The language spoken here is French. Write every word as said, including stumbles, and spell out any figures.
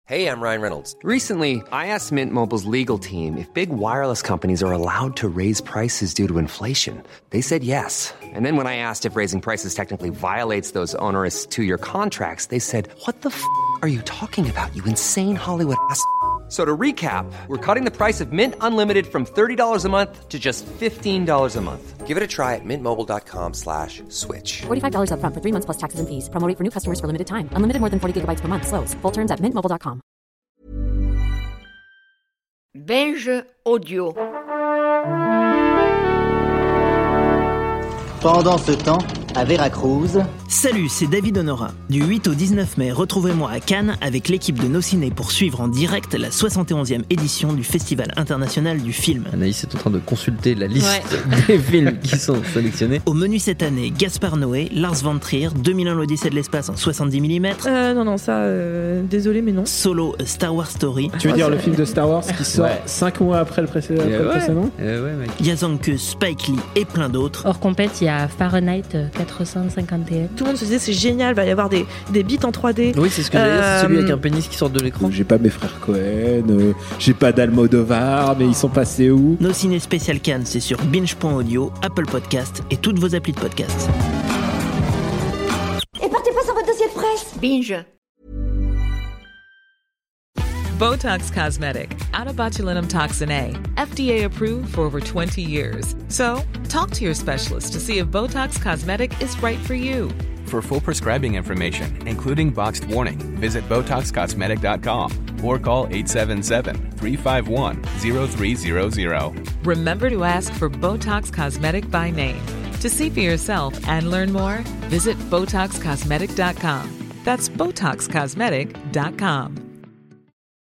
Hey, I'm Ryan Reynolds. Recently, I asked Mint Mobile's legal team if big wireless companies are allowed to raise prices due to inflation. They said yes. And then when I asked if raising prices technically violates those onerous two-year contracts, they said, what the f*** are you talking about, you insane Hollywood ass f- So to recap, we're cutting the price of Mint Unlimited from thirty dollars a month to just fifteen dollars a month. Give it a try at mintmobile.com slash switch. forty-five dollars up front for three months plus taxes and fees. Promo rate for new customers for limited time. Unlimited more than forty gigabytes per month. Slows full terms at mint mobile dot com. Binge Audio. Pendant ce temps, à Veracruz... Salut, c'est David Honora. Du huit au dix-neuf mai, retrouvez-moi à Cannes avec l'équipe de Nos Ciné pour suivre en direct la soixante et onzième édition du Festival international du film. Anaïs est en train de consulter la liste ouais. des films qui sont sélectionnés. Au menu cette année, Gaspard Noé, Lars von Trier, deux mille un l'Odyssée de l'espace en soixante-dix millimètres. Euh, non, non, ça, euh, désolé, mais non. Solo, A Star Wars Story. Tu veux dire le film de Star Wars qui sort ouais. cinq mois après le précédent, après ouais. le précédent euh, ouais, mec. Yazanke, Spike Lee et plein d'autres. Hors compète, il y a Fahrenheit quatre cent cinquante et un. Tout le monde se disait c'est génial, il va y avoir des, des beats en trois D. Oui, c'est ce que j'allais dire, c'est celui avec un pénis qui sort de l'écran. J'ai pas mes frères Cohen, euh, j'ai pas d'Almodovar, mais ils sont passés où? Nos Ciné spécial Cannes, c'est sur binge point audio, Apple Podcast et toutes vos applis de podcast. Et partez pas sans votre dossier de presse. Binge. Botox Cosmetic, out of botulinum toxin A, F D A approved for over twenty years. So, talk to your specialist to see if Botox Cosmetic is right for you. For full prescribing information, including boxed warning, visit Botox Cosmetic dot com or call eight seven seven, three five one, zero three zero zero. Remember to ask for Botox Cosmetic by name. To see for yourself and learn more, visit Botox Cosmetic dot com. That's Botox Cosmetic dot com.